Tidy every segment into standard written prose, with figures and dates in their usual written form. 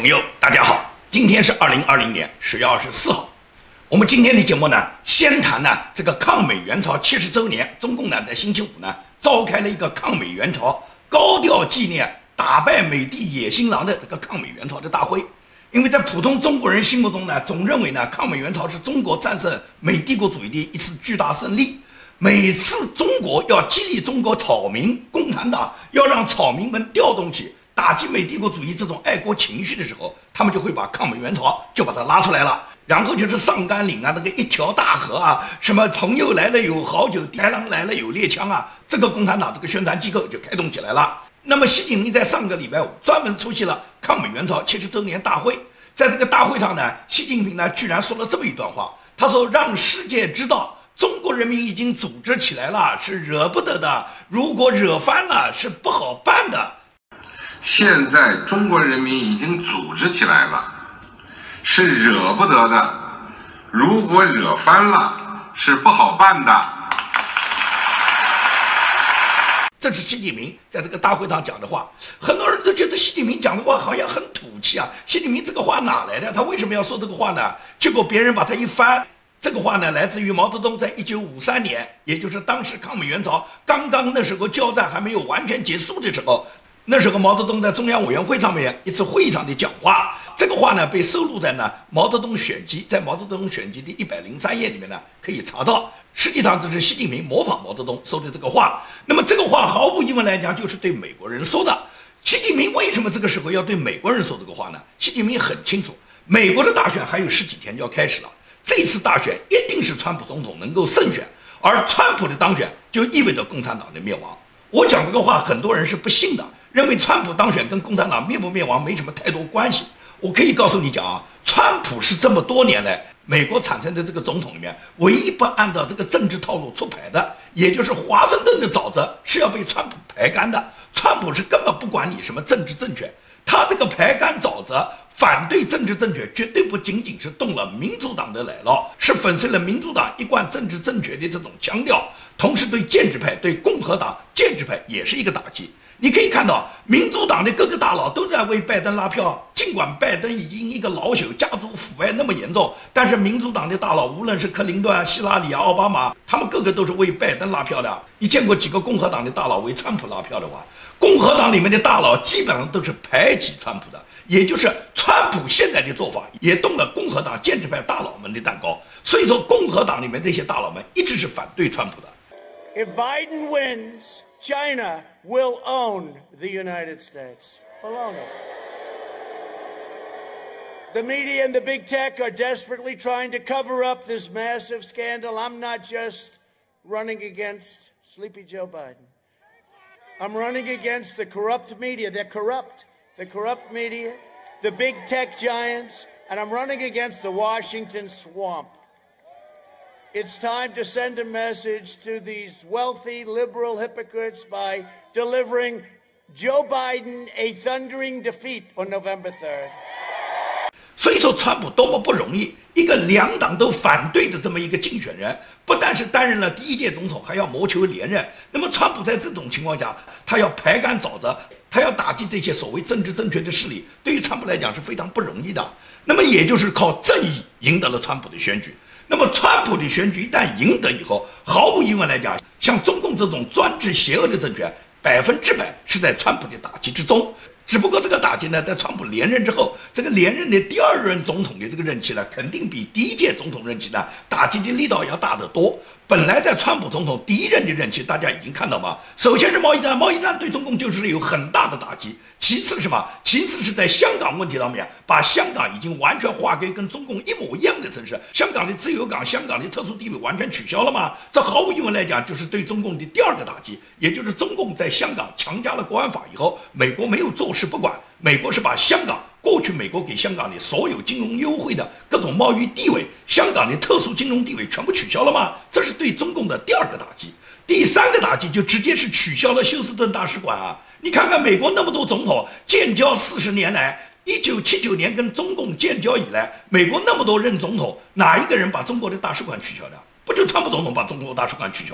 朋友，大家好，今天是2020年10月24号。我们今天的节目呢，先谈呢这个抗美援朝70周年，中共呢在星期五呢召开了一个抗美援朝高调纪念打败美帝野心狼的这个抗美援朝的大会。因为在普通中国人心目中呢，总认为呢抗美援朝是中国战胜美帝国主义的一次巨大胜利。每次中国要激励中国草民，共产党要让草民们调动起打击美帝国主义这种爱国情绪的时候，他们就会把抗美援朝就把它拉出来了。然后就是上甘岭啊，那个一条大河啊，什么朋友来了有好酒，豺狼来了有猎枪啊，这个共产党这个宣传机构就开动起来了。那么习近平在上个礼拜五专门出席了抗美援朝70周年大会，在这个大会上呢，习近平呢居然说了这么一段话，他说让世界知道中国人民已经组织起来了，是惹不得的，如果惹翻了是不好办的。 现在中国人民已经组织起来了，是惹不得的，如果惹翻了是不好办的。 这是习近平在这个大会上讲的话，很多人都觉得习近平讲的话好像很土气啊。习近平这个话哪来的？他为什么要说这个话呢？结果别人把他一翻，这个话呢来自于毛泽东在1953年，也就是当时抗美援朝刚刚那时候交战还没有完全结束的时候，那时候毛泽东在中央委员会上面一次会议上的讲话，这个话呢被收录在呢毛泽东选集，在毛泽东选集的103页里面呢可以查到。实际上这是习近平模仿毛泽东说的这个话。那么这个话毫无疑问来讲就是对美国人说的。习近平为什么这个时候要对美国人说这个话呢？习近平很清楚，美国的大选还有10几天就要开始了，这次大选一定是川普总统能够胜选，而川普的当选就意味着共产党的灭亡。我讲这个话很多人是不信的，认为川普当选跟共产党灭不灭亡没什么太多关系。我可以告诉你讲啊，川普是这么多年来美国产生的这个总统里面唯一不按照这个政治套路出牌的，也就是华盛顿的沼泽是要被川普排干的。川普是根本不管你什么政治正确，他这个排干沼泽反对政治正确绝对不仅仅是动了民主党的奶酪，是粉碎了民主党一贯政治正确的这种腔调，同时对建制派对共和党建制派也是一个打击。你可以看到民主党的各个大佬都在为拜登拉票，尽管拜登已经一个老朽，家族腐败那么严重，但是民主党的大佬无论是克林顿啊、希拉里啊、奥巴马，他们个个都是为拜登拉票的。你见过几个共和党的大佬为川普拉票的话？共和党里面的大佬基本上都是排挤川普的，也就是川普现在的做法也动了共和党建制派大佬们的蛋糕。所以说共和党里面这些大佬们一直是反对川普的。 If Biden wins, China will own the United States. Will own it. The media and the big tech are desperately trying to cover up this massive scandal. I'm not just running against Sleepy Joe Biden. I'm running against the corrupt media. They're corrupt. The corrupt media, the big tech giants, and I'm running against the Washington swamp. It's time to send a message to these wealthy liberal hypocrites by delivering Joe Biden a thundering defeat on November 3rd. 所以说川普多么不容易，一个两党都反对的这么一个竞选人，不但是担任了第1届总统，还要谋求连任。那么川普在这种情况下，他要排干沼泽，他要打击这些所谓政治正确的势力，对于川普来讲是非常不容易的。那么也就是靠正义赢得了川普的选举。那么川普的选举一旦赢得以后，毫无疑问来讲，像中共这种专制邪恶的政权，100%是在川普的打击之中。只不过这个打击呢，在川普连任之后，这个连任的第2任总统的这个任期呢，肯定比第1届总统任期呢打击的力道要大得多。本来在川普总统第1任的任期，大家已经看到嘛，首先是贸易战，贸易战对中共就是有很大的打击。其次是什么？其次是在香港问题上面，把香港已经完全划归跟中共一模一样的城市，香港的自由港、香港的特殊地位完全取消了嘛？这毫无疑问来讲，就是对中共的第2个打击，也就是中共在香港强加了国安法以后，美国没有坐视不管，美国是把香港过去美国给香港的所有金融优惠的各种贸易地位，香港的特殊金融地位全部取消了吗？这是对中共的第2个打击。第3个打击就直接是取消了休斯顿大使馆啊！你看看美国那么多总统建交40年来，1979年跟中共建交以来，美国那么多任总统，哪一个人把中国的大使馆取消的？不就川普总统把中国大使馆取消了吗？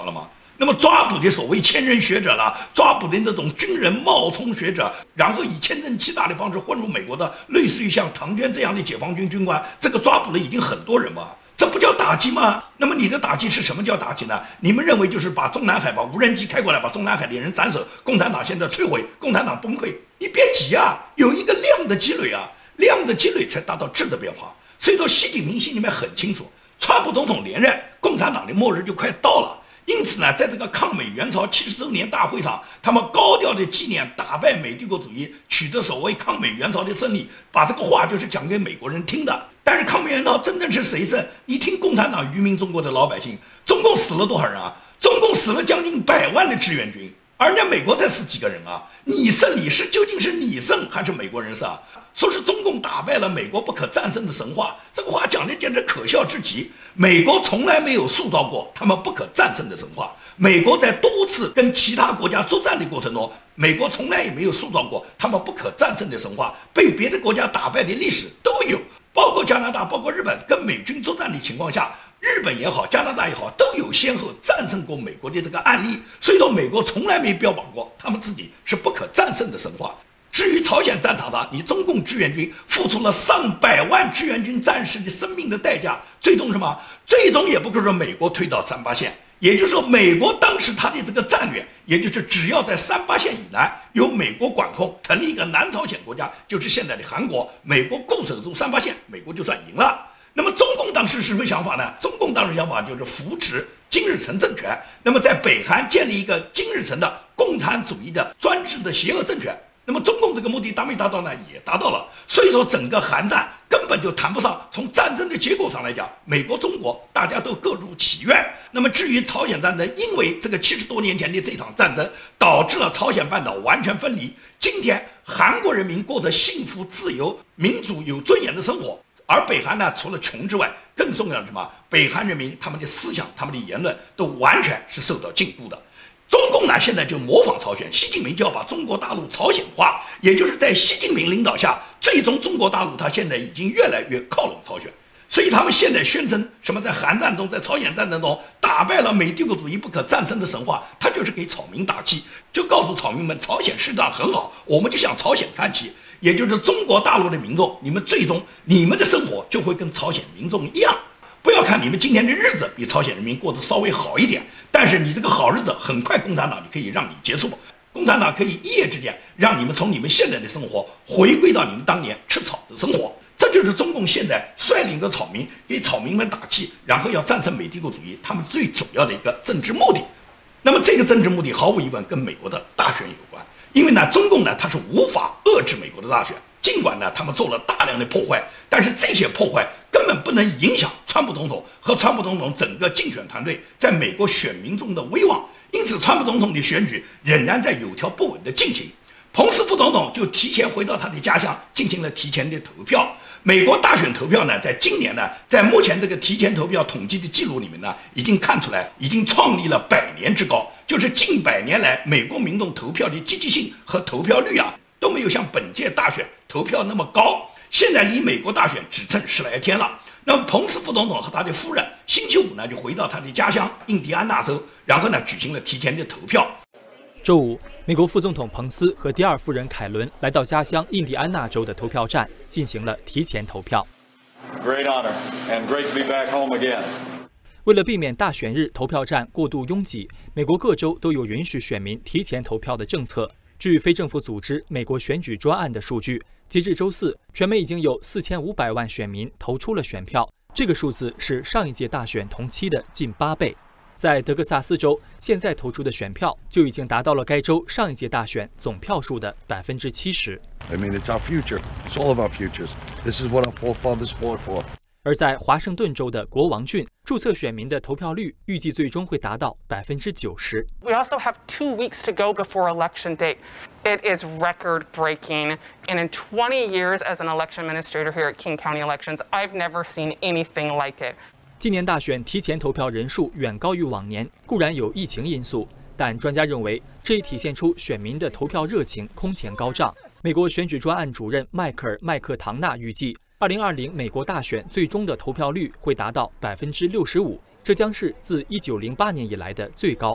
那么抓捕的所谓千人学者了，抓捕的那种军人冒充学者，然后以千人欺打的方式混入美国的，类似于像唐娟这样的解放军军官，这个抓捕了已经很多人嘛，这不叫打击吗？那么你的打击是什么叫打击呢？你们认为就是把中南海把无人机开过来，把中南海的人斩首，共产党现在摧毁，共产党崩溃？你别急啊，有一个量的积累啊，量的积累才达到质的变化。所以说，习近平心里面很清楚，川普总统连任，共产党的末日就快到了。因此呢，在这个抗美援朝70周年大会上，他们高调的纪念打败美帝国主义，取得所谓抗美援朝的胜利，把这个话就是讲给美国人听的。但是抗美援朝真正是谁胜？你听共产党愚民中国的老百姓，中共死了多少人啊？中共死了将近100万的志愿军，而人家美国才死几个人啊？你胜你是究竟是你胜还是美国人胜啊？说是中共打败了美国不可战胜的神话，这个话讲的简直可笑至极。美国从来没有塑造过他们不可战胜的神话。美国在多次跟其他国家作战的过程中，美国从来也没有塑造过他们不可战胜的神话。被别的国家打败的历史都有，包括加拿大，包括日本，跟美军作战的情况下，日本也好，加拿大也好，都有先后战胜过美国的这个案例。所以说，美国从来没标榜过他们自己是不可战胜的神话。至于朝鲜战场上，你中共志愿军付出了上百万志愿军战士的生命的代价，最终什么？最终也不是说美国退到38线，也就是说，美国当时他的这个战略，也就是只要在38线以南由美国管控，成立一个南朝鲜国家，就是现在的韩国，美国固守住38线，美国就算赢了。那么中共当时是什么想法呢？中共当时想法就是扶持金日成政权，那么在北韩建立一个金日成的共产主义的专制的邪恶政权。那么中共这个目的达没达到呢？也达到了。所以说整个韩战根本就谈不上，从战争的结果上来讲，美国中国大家都各如其愿。那么至于朝鲜战争，因为这个70多年前的这场战争导致了朝鲜半岛完全分离，今天韩国人民过着幸福自由民主有尊严的生活，而北韩呢，除了穷之外，更重要的是什么？北韩人民他们的思想他们的言论都完全是受到禁锢的。中共呢，现在就模仿朝鲜，习近平就要把中国大陆朝鲜化，也就是在习近平领导下，最终中国大陆它现在已经越来越靠拢朝鲜。所以他们现在宣称什么在韩战中，在朝鲜战争中打败了美帝国主义不可战胜的神话，他就是给草民打气，就告诉草民们，朝鲜市场很好，我们就向朝鲜看齐，也就是中国大陆的民众，你们最终你们的生活就会跟朝鲜民众一样。不要看你们今天的日子比朝鲜人民过得稍微好一点，但是你这个好日子很快共产党就可以让你结束，共产党可以一夜之间让你们从你们现在的生活回归到你们当年吃草的生活。这就是中共现在率领着草民给草民们打气，然后要战胜美帝国主义，他们最主要的一个政治目的。那么这个政治目的毫无疑问跟美国的大选有关，因为呢中共呢它是无法遏制美国的大选，尽管呢他们做了大量的破坏，但是这些破坏根本不能影响川普总统和川普总统整个竞选团队在美国选民中的威望，因此川普总统的选举仍然在有条不紊地进行。彭斯副总统就提前回到他的家乡进行了提前的投票。美国大选投票呢，在今年呢，在目前这个提前投票统计的记录里面呢，已经看出来，已经创立了100年之高，就是近100年来美国民众投票的积极性和投票率啊，都没有像本届大选投票那么高。现在离美国大选只剩10来天了。那么彭斯副总统和他的夫人星期五呢，就回到他的家乡印第安纳州，然后呢举行了提前的投票。 周五，美国副总统彭斯和第二夫人凯伦来到家乡印第安纳州的投票站，进行了提前投票。 Great honor and great to be back home again. 为了避免大选日投票站过度拥挤，美国各州都有允许选民提前投票的政策。据非政府组织美国选举专案的数据，截至周四，全美已经有4500万选民投出了选票，这个数字是上一届大选同期的近8倍。在德克萨斯州，现在投出的选票就已经达到了该州上一届大选总票数的70%。 I mean, it's our future. It's all of our futures. This is what our forefathers fought for. 而在华盛顿州的国王郡，注册选民的投票率预计最终会达到90%。 We also have 2 weeks to go before election day. It is record-breaking, and in 20 years as an election administrator here at King County Elections, I've never seen anything like it. 今年大选提前投票人数远高于往年，固然有疫情因素，但专家认为这也体现出选民的投票热情空前高涨。美国选举专案主任迈克尔·麦克唐纳预计，2020美国大选最终的投票率会达到65%，这将是自1908年以来的最高。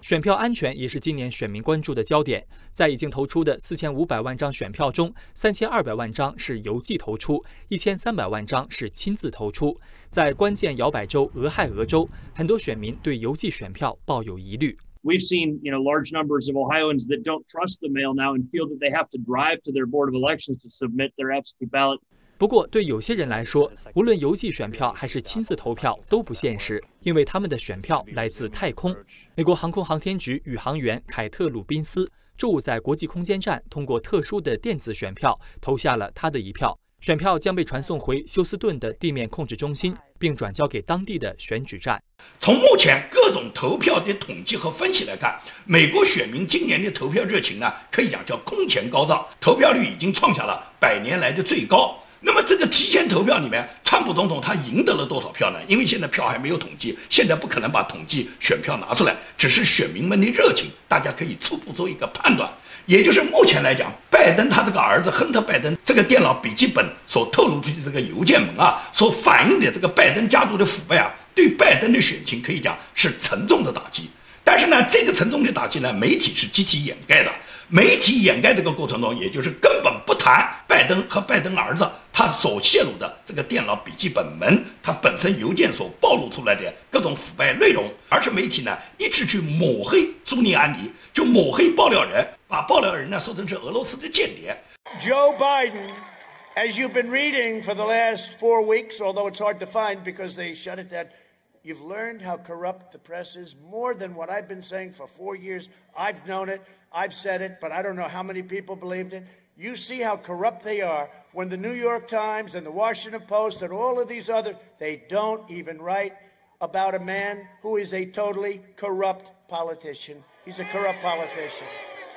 选票安全也是今年选民关注的焦点。在已经投出的4500万张选票中，3200万张是邮寄投出，1300万张是亲自投出。在关键摇摆州俄亥俄州，很多选民对邮寄选票抱有疑虑。 We've seen, large numbers of Ohioans that don't trust the mail now and feel that they have to drive to their board of elections to submit their absentee ballot. 不过，对有些人来说，无论邮寄选票还是亲自投票都不现实，因为他们的选票来自太空。美国航空航天局宇航员凯特·鲁宾斯周五在国际空间站通过特殊的电子选票投下了他的一票，选票将被传送回休斯顿的地面控制中心，并转交给当地的选举站。 从目前各种投票的统计和分析来看，美国选民今年的投票热情呢，可以讲叫空前高涨，投票率已经创下了100年来的最高。那么这个提前投票里面，川普总统他赢得了多少票呢？因为现在票还没有统计，现在不可能把统计选票拿出来，只是选民们的热情，大家可以初步做一个判断。也就是目前来讲，拜登他这个儿子亨特·拜登这个电脑笔记本所透露出的这个邮件门啊，所反映的这个拜登家族的腐败啊，对拜登的选情可以讲是沉重的打击。但是呢，这个沉重的打击呢，媒体是集体掩盖的。媒体掩盖这个过程中，也就是根本不谈拜登和拜登儿子他所泄露的这个电脑笔记本门，他本身邮件所暴露出来的各种腐败内容，而是媒体呢一直去抹黑朱利安尼，就抹黑爆料人，把爆料人呢说成是俄罗斯的间谍。 Joe Biden, as you've been reading for the last 4 weeks, although it's hard to find because they shut it down, you've learned how corrupt the press is more than what I've been saying for 4 years. I've known it, I've said it, but I don't know how many people believed it. You see how corrupt they are when the New York Times and the Washington Post and all of these other, they don't even write about a man who is a totally corrupt politician. He's a corrupt politician.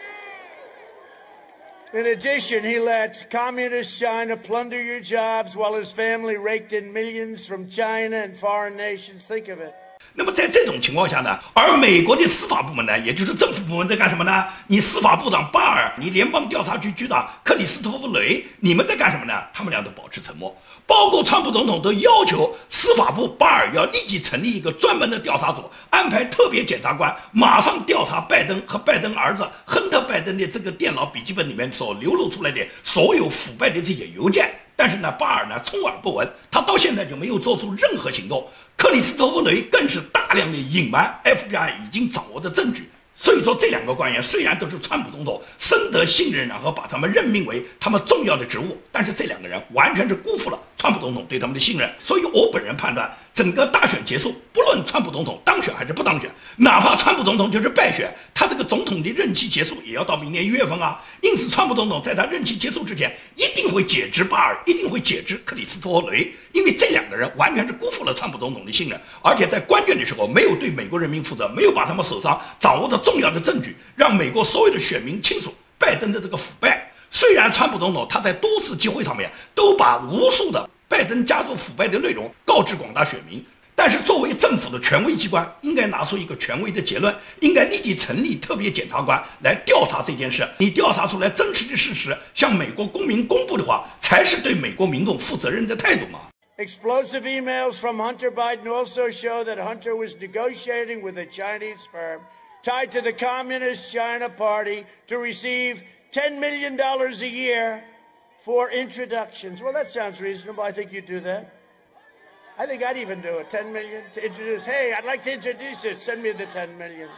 In addition, he let communist China plunder your jobs while his family raked in millions from China and foreign nations. Think of it. 那么在这种情况下呢，而美国的司法部门呢，也就是政府部门在干什么呢？你司法部长巴尔，你联邦调查局局长克里斯托弗·雷，你们在干什么呢？他们俩都保持沉默。包括川普总统都要求司法部巴尔要立即成立一个专门的调查组，安排特别检察官马上调查拜登和拜登儿子亨特·拜登的这个电脑笔记本里面所流露出来的所有腐败的这些邮件。但是呢，巴尔呢充耳不闻，他到现在就没有做出任何行动。克里斯托弗·雷更是大量的隐瞒 FBI 已经掌握的证据。所以说，这两个官员虽然都是川普总统深得信任，然后把他们任命为他们重要的职务，但是这两个人完全是辜负了川普总统对他们的信任。所以我本人判断，整个大选结束，不论川普总统当选还是不当选，哪怕川普总统就是败选，他这个总统的任期结束也要到明年1月份啊。因此，川普总统在他任期结束之前，一定会解职巴尔，一定会解职克里斯托弗·雷，因为这两个人完全是辜负了川普总统的信任，而且在关键的时候没有对美国人民负责，没有把他们手上掌握的重要的证据让美国所有的选民清楚拜登的这个腐败。虽然川普总统他在多次机会上面都把无数的拜登家族腐败的内容告知广大选民，但是作为政府的权威机关，应该拿出一个权威的结论，应该立即成立特别检察官来调查这件事。你调查出来真实的事实，向美国公民公布的话，才是对美国民众负责任的态度嘛。 Explosive emails from Hunter Biden also show that Hunter was negotiating with a Chinese firm tied to the Communist China Party to receive $10 million a year for introductions. Well, that sounds reasonable. I think you'd do that. I think I'd even do it. 10 million to introduce. Hey, I'd like to introduce it. Send me the 10 million.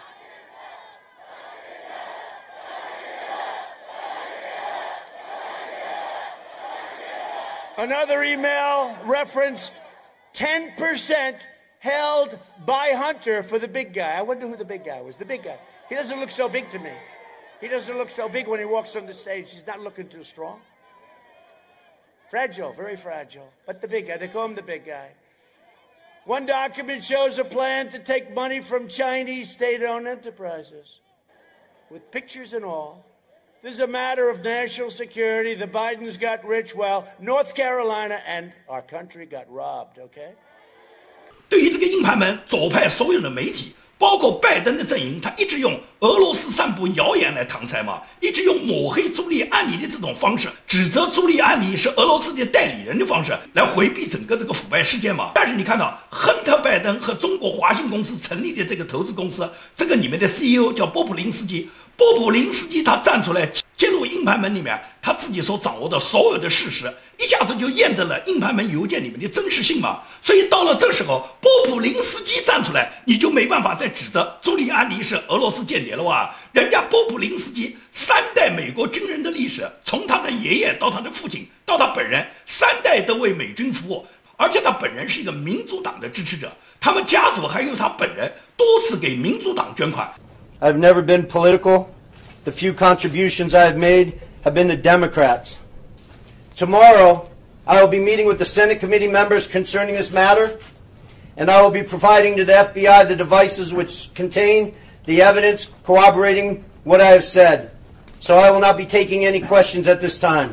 Another email referenced 10% held by Hunter for the big guy. I wonder who the big guy was. The big guy. He doesn't look so big to me. He doesn't look so big when he walks on the stage. He's not looking too strong. Fragile, very fragile. But the big guy, they call him the big guy. One document shows a plan to take money from Chinese state-owned enterprises, with pictures and all. This is a matter of national security. The Bidens got rich while North Carolina and our country got robbed, okay? 对于这个硬盘门，左派所有的媒体， 包括拜登的阵营，他一直用俄罗斯散布谣言来搪塞嘛，一直用抹黑朱利安尼的这种方式，指责朱利安尼是俄罗斯的代理人的方式来回避整个这个腐败事件嘛。但是你看到亨特·拜登和中国华信公司成立的这个投资公司，这个里面的 CEO 叫波普林斯基，波普林斯基他站出来揭露硬盘门里面他自己所掌握的所有的事实，一下子就验证了硬盘门邮件里面的真实性嘛。所以到了这时候，波普林斯基站出来，你就没办法再指责朱利安尼是俄罗斯间谍了哇！人家波普林斯基3代美国军人的历史，从他的爷爷到他的父亲到他本人，3代都为美军服务，而且他本人是一个民主党的支持者，他们家族还有他本人多次给民主党捐款。 I've never been political. The few contributions I have made have been to Democrats. Tomorrow, I will be meeting with the Senate committee members concerning this matter, and I will be providing to the FBI the devices which contain the evidence corroborating what I have said. So I will not be taking any questions at this time.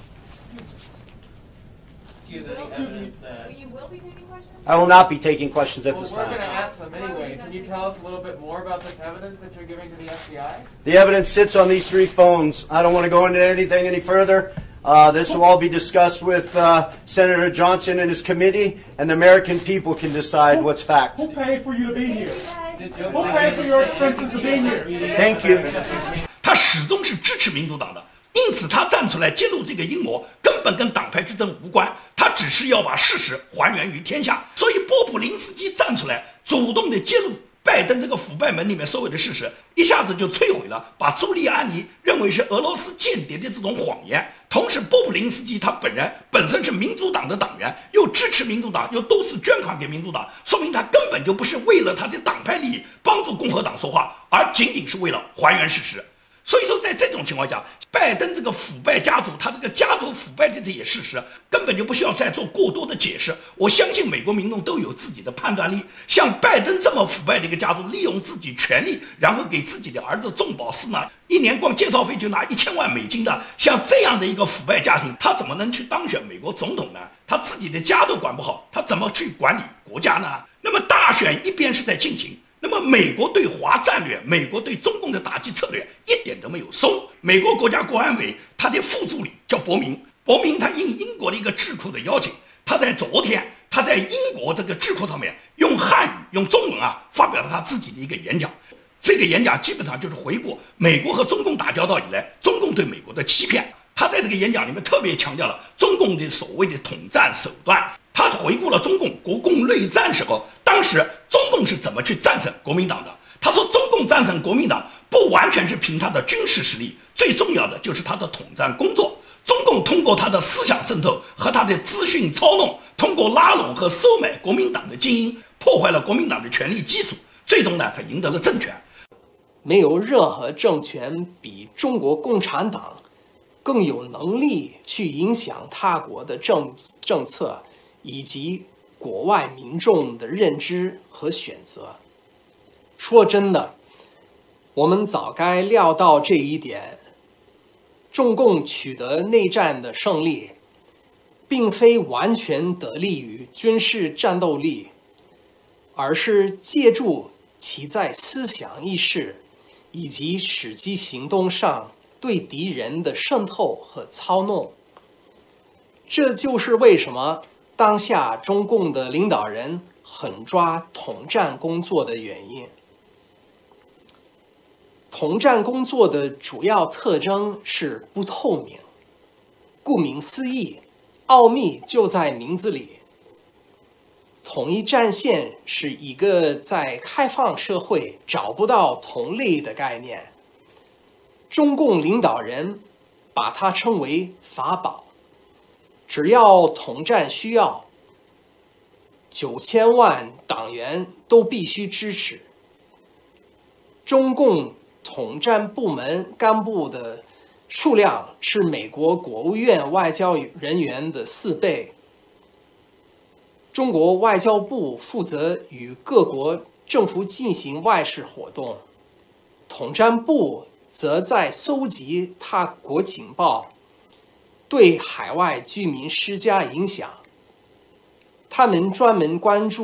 I will not be taking questions at this time. We're going to ask them anyway. Can you tell us a little bit more about this evidence that you're giving to the FBI? The evidence sits on these 3 phones. I don't want to go into anything any further. This will all be discussed with Senator Johnson and his committee, and the American people can decide what's fact. Who paid for you to be here? Who paid for your expenses to be here? Thank you. 他始终是支持民主党的，因此他站出来揭露这个阴谋，根本跟党派之争无关，他只是要把事实还原于天下。所以波普林斯基站出来，主动的揭露拜登这个腐败门里面所有的事实，一下子就摧毁了把朱利安尼认为是俄罗斯间谍的这种谎言。同时，波普林斯基他本身是民主党的党员，又支持民主党，又多次捐款给民主党，说明他根本就不是为了他的党派利益帮助共和党说话，而仅仅是为了还原事实。所以说，在这种情况下，拜登这个腐败家族，他这个家族腐败的这些事实，根本就不需要再做过多的解释。我相信美国民众都有自己的判断力。像拜登这么腐败的一个家族，利用自己权力，然后给自己的儿子中饱私囊，一年光介绍费就拿1000万美金的，像这样的一个腐败家庭，他怎么能去当选美国总统呢？他自己的家都管不好，他怎么去管理国家呢？那么大选一边是在进行。那么美国对华战略，美国对中共的打击策略一点都没有松。美国国家国安委他的副助理叫伯明，伯明他应英国的一个智库的邀请，他在昨天他在英国这个智库上面用汉语用中文发表了他自己的一个演讲。这个演讲基本上就是回顾美国和中共打交道以来，中共对美国的欺骗。他在这个演讲里面特别强调了中共的所谓的统战手段。他回顾了中共国共内战时候，当时中共是怎么去战胜国民党的。他说，中共战胜国民党不完全是凭他的军事实力，最重要的就是他的统战工作。中共通过他的思想渗透和他的资讯操弄，通过拉拢和收买国民党的精英，破坏了国民党的权力基础，最终呢，他赢得了政权。 没有任何政权比中国共产党更有能力去影响他国的政策以及国外民众的认知和选择。说真的，我们早该料到这一点。中共取得内战的胜利，并非完全得力于军事战斗力，而是借助其在思想意识以及实际行动上对敌人的渗透和操弄。这就是为什么当下中共的领导人狠抓统战工作的原因。统战工作的主要特征是不透明，顾名思义，奥秘就在名字里。统一战线是一个在开放社会找不到同类的概念，中共领导人把它称为法宝。只要统战需要，9000万党员都必须支持。中共统战部门干部的数量是美国国务院外交人员的4倍。中国外交部负责与各国政府进行外事活动，统战部则在搜集他国情报，对海外居民施加影响。他们专门关注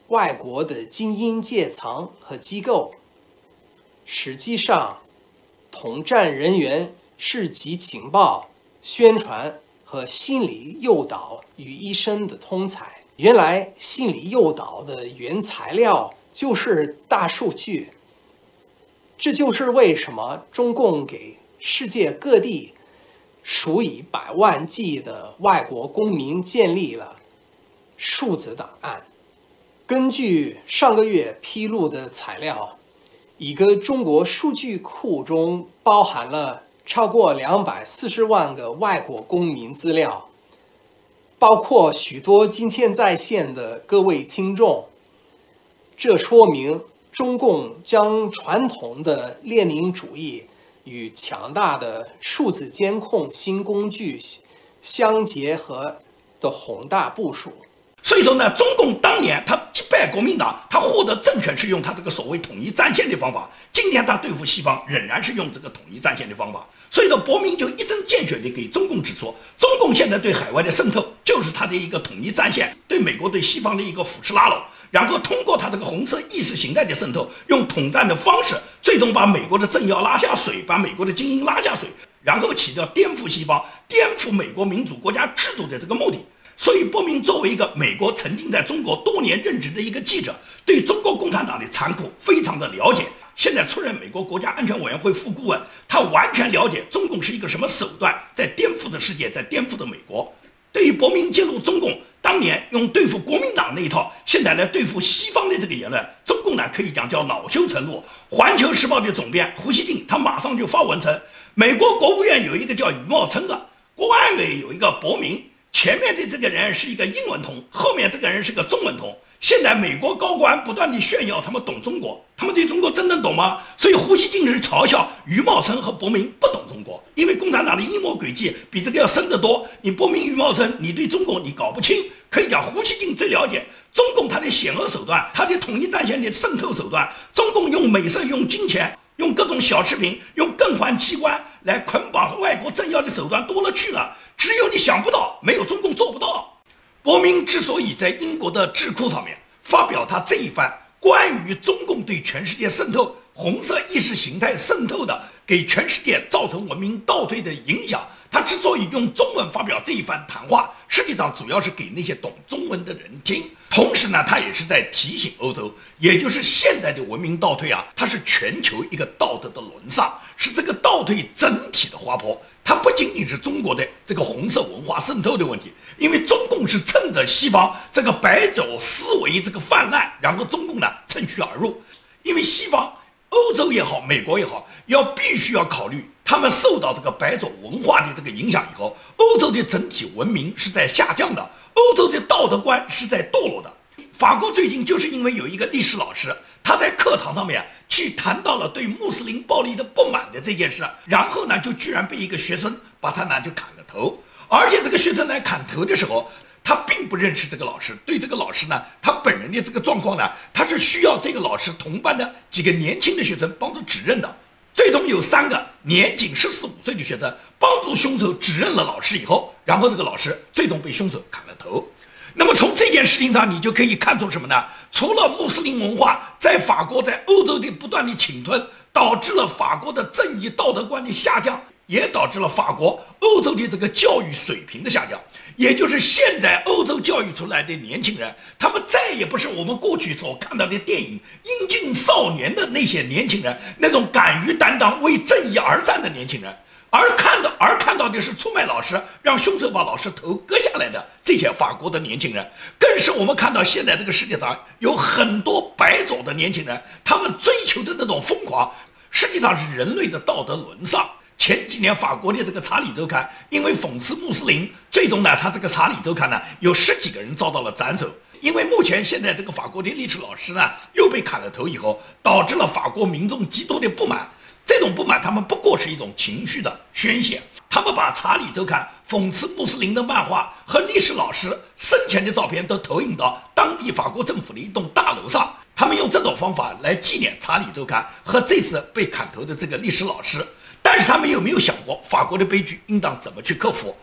外国的精英阶层和机构。实际上，统战人员是集情报、宣传和心理诱导于一身的通才。原来，心理诱导的原材料就是大数据。这就是为什么中共给世界各地数以百万计的外国公民建立了数字档案。根据上个月披露的材料，一个中国数据库中包含了超过240万个外国公民资料，包括许多今天在线的各位听众。这说明中共将传统的列宁主义与强大的数字监控新工具相结合的宏大部署。 所以说呢，中共当年他击败国民党，他获得政权是用他这个所谓统一战线的方法。今天他对付西方仍然是用这个统一战线的方法。所以说，伯明就一针见血地给中共指出，中共现在对海外的渗透就是他的一个统一战线，对美国对西方的一个扶持拉拢，然后通过他这个红色意识形态的渗透，用统战的方式，最终把美国的政要拉下水，把美国的精英拉下水，然后起到颠覆西方、颠覆美国民主国家制度的这个目的。所以，伯明作为一个美国曾经在中国多年任职的一个记者，对中国共产党的残酷非常的了解。现在出任美国国家安全委员会副顾问，他完全了解中共是一个什么手段，在颠覆的世界，在颠覆的美国。对于伯明揭露中共当年用对付国民党那一套，现在来对付西方的这个言论，中共呢可以讲叫恼羞成怒。环球时报的总编胡锡进，他马上就发文称，美国国务院有一个叫余茂春的，国安委有一个伯明。前面的这个人是一个英文通，后面这个人是个中文通。现在美国高官不断地炫耀他们懂中国，他们对中国真正懂吗？所以胡锡进是嘲笑余茂春和伯明不懂中国，因为共产党的阴谋诡计比这个要深得多。你伯明、余茂春，你对中国你搞不清，可以讲胡锡进最了解中共他的险恶手段，他的统一战线的渗透手段。中共用美色、用金钱、用各种小吃品、用更换器官来捆绑外国政要的手段多了去了。只有你想不到，没有中共做不到。伯明之所以在英国的智库上面发表他这一番关于中共对全世界渗透、红色意识形态渗透的，给全世界造成文明倒退的影响，他之所以用中文发表这一番谈话，实际上主要是给那些懂中文的人听。同时呢，他也是在提醒欧洲，也就是现代的文明倒退啊，它是全球一个道德的沦丧，是这个倒退整体的滑坡。它不仅仅是中国的这个红色文化渗透的问题，因为中共是趁着西方这个白种思维这个泛滥，然后中共呢趁虚而入。因为西方欧洲也好，美国也好，必须要考虑他们受到这个白种文化的这个影响以后，欧洲的整体文明是在下降的，欧洲的道德观是在堕落的。法国最近就是因为有一个历史老师，他在课堂上面去谈到了对穆斯林暴力的不满的这件事，然后呢就居然被一个学生把他呢就砍了头，而且这个学生来砍头的时候，他并不认识这个老师，对这个老师呢，他本人的这个状况呢，他是需要这个老师同班的几个年轻的学生帮助指认的。最终有3个年仅14、15岁的学生帮助凶手指认了老师以后，然后这个老师最终被凶手砍了头。那么从这件事情上，你就可以看出什么呢？除了穆斯林文化在法国、在欧洲的不断的侵吞，导致了法国的正义道德观的下降，也导致了法国、欧洲的这个教育水平的下降。也就是现在欧洲教育出来的年轻人，他们再也不是我们过去所看到的电影英俊少年的那些年轻人，那种敢于担当、为正义而战的年轻人。而看到的是出卖老师，让凶手把老师头割下来的这些法国的年轻人，更是我们看到现在这个世界上有很多白种的年轻人，他们追求的那种疯狂，实际上是人类的道德沦丧。前几年法国的这个《查理周刊》因为讽刺穆斯林，最终呢，他这个《查理周刊》呢有10几个人遭到了斩首。因为目前现在这个法国的历史老师呢又被砍了头以后，导致了法国民众极多的不满。这种不满，他们不过是一种情绪的宣泄。他们把《查理周刊》讽刺穆斯林的漫画和历史老师生前的照片都投影到当地法国政府的一栋大楼上。他们用这种方法来纪念《查理周刊》和这次被砍头的这个历史老师。但是他们有没有想过，法国的悲剧应当怎么去克服？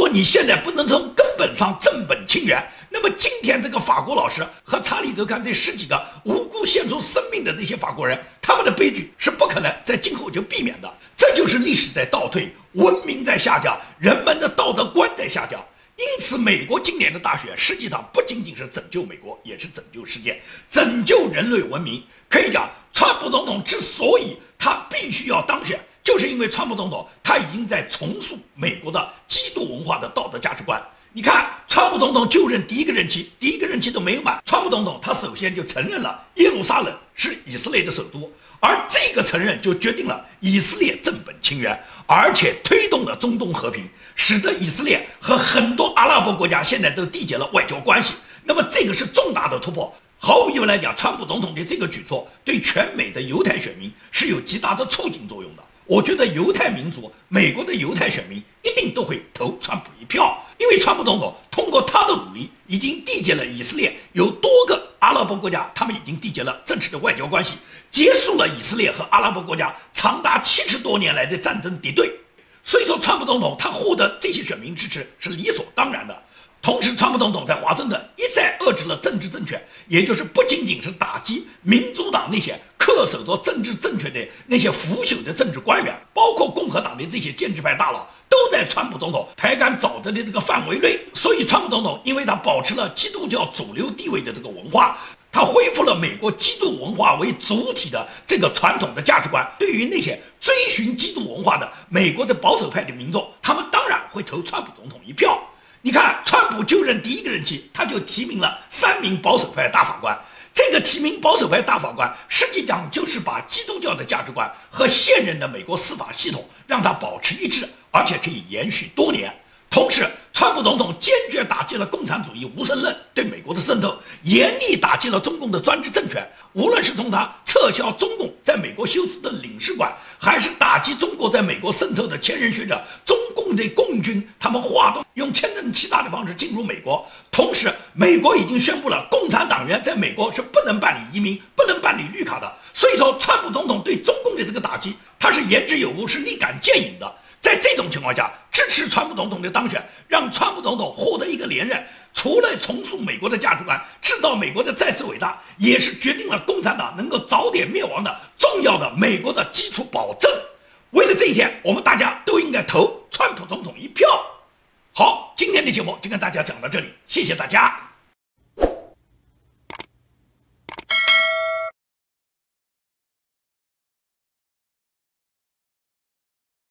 你现在不能从根本上正本清源，那么今天这个法国老师和查理·泽康这10几个无辜献出生命的这些法国人，他们的悲剧是不可能在今后就避免的。这就是历史在倒退，文明在下降，人们的道德观在下降。因此，美国今年的大选实际上不仅仅是拯救美国，也是拯救世界，拯救人类文明。可以讲，川普总统之所以他必须要当选，就是因为川普总统他已经在重塑美国的基督文化的道德价值观。你看，川普总统就任第一个任期都没有满，川普总统他首先就承认了耶路撒冷是以色列的首都，而这个承认就决定了以色列正本清源，而且推动了中东和平，使得以色列和很多阿拉伯国家现在都缔结了外交关系。那么这个是重大的突破。毫无疑问来讲，川普总统的这个举措对全美的犹太选民是有极大的促进作用的。我觉得犹太民族，美国的犹太选民一定都会投川普一票，因为川普总统通过他的努力，已经缔结了以色列有多个阿拉伯国家，他们已经缔结了正式的外交关系，结束了以色列和阿拉伯国家长达70多年来的战争敌对。所以说，川普总统他获得这些选民支持是理所当然的。同时，川普总统在华盛顿一再遏制了政治正确，也就是不仅仅是打击民主党那些恪守着政治正确的那些腐朽的政治官员，包括共和党的这些建制派大佬，都在川普总统排杆沼泽的这个范围内。所以，川普总统因为他保持了基督教主流地位的这个文化，他恢复了美国基督文化为主体的这个传统的价值观。对于那些追寻基督文化的美国的保守派的民众，他们当然会投川普总统一票。你看，川普就任第一个任期，他就提名了3名保守派大法官。这个提名保守派大法官，实际上就是把基督教的价值观和现任的美国司法系统让它保持一致，而且可以延续多年。同时，川普总统坚决打击了共产主义无神论对美国的渗透，严厉打击了中共的专制政权。无论是从他撤销中共在美国休斯顿领事馆，还是打击中国在美国渗透的前任学者中共的共军，他们划动用签证欺诈的方式进入美国。同时，美国已经宣布了共产党员在美国是不能办理移民、不能办理绿卡的。所以说，川普总统对中共的这个打击，他是言之有物，是立竿见影的。在这种情况下，支持川普总统的当选，让川普总统获得一个连任，除了重塑美国的价值观，制造美国的再次伟大，也是决定了共产党能够早点灭亡的重要的美国的基础保证。为了这一天，我们大家都应该投川普总统一票。好，今天的节目就跟大家讲到这里，谢谢大家。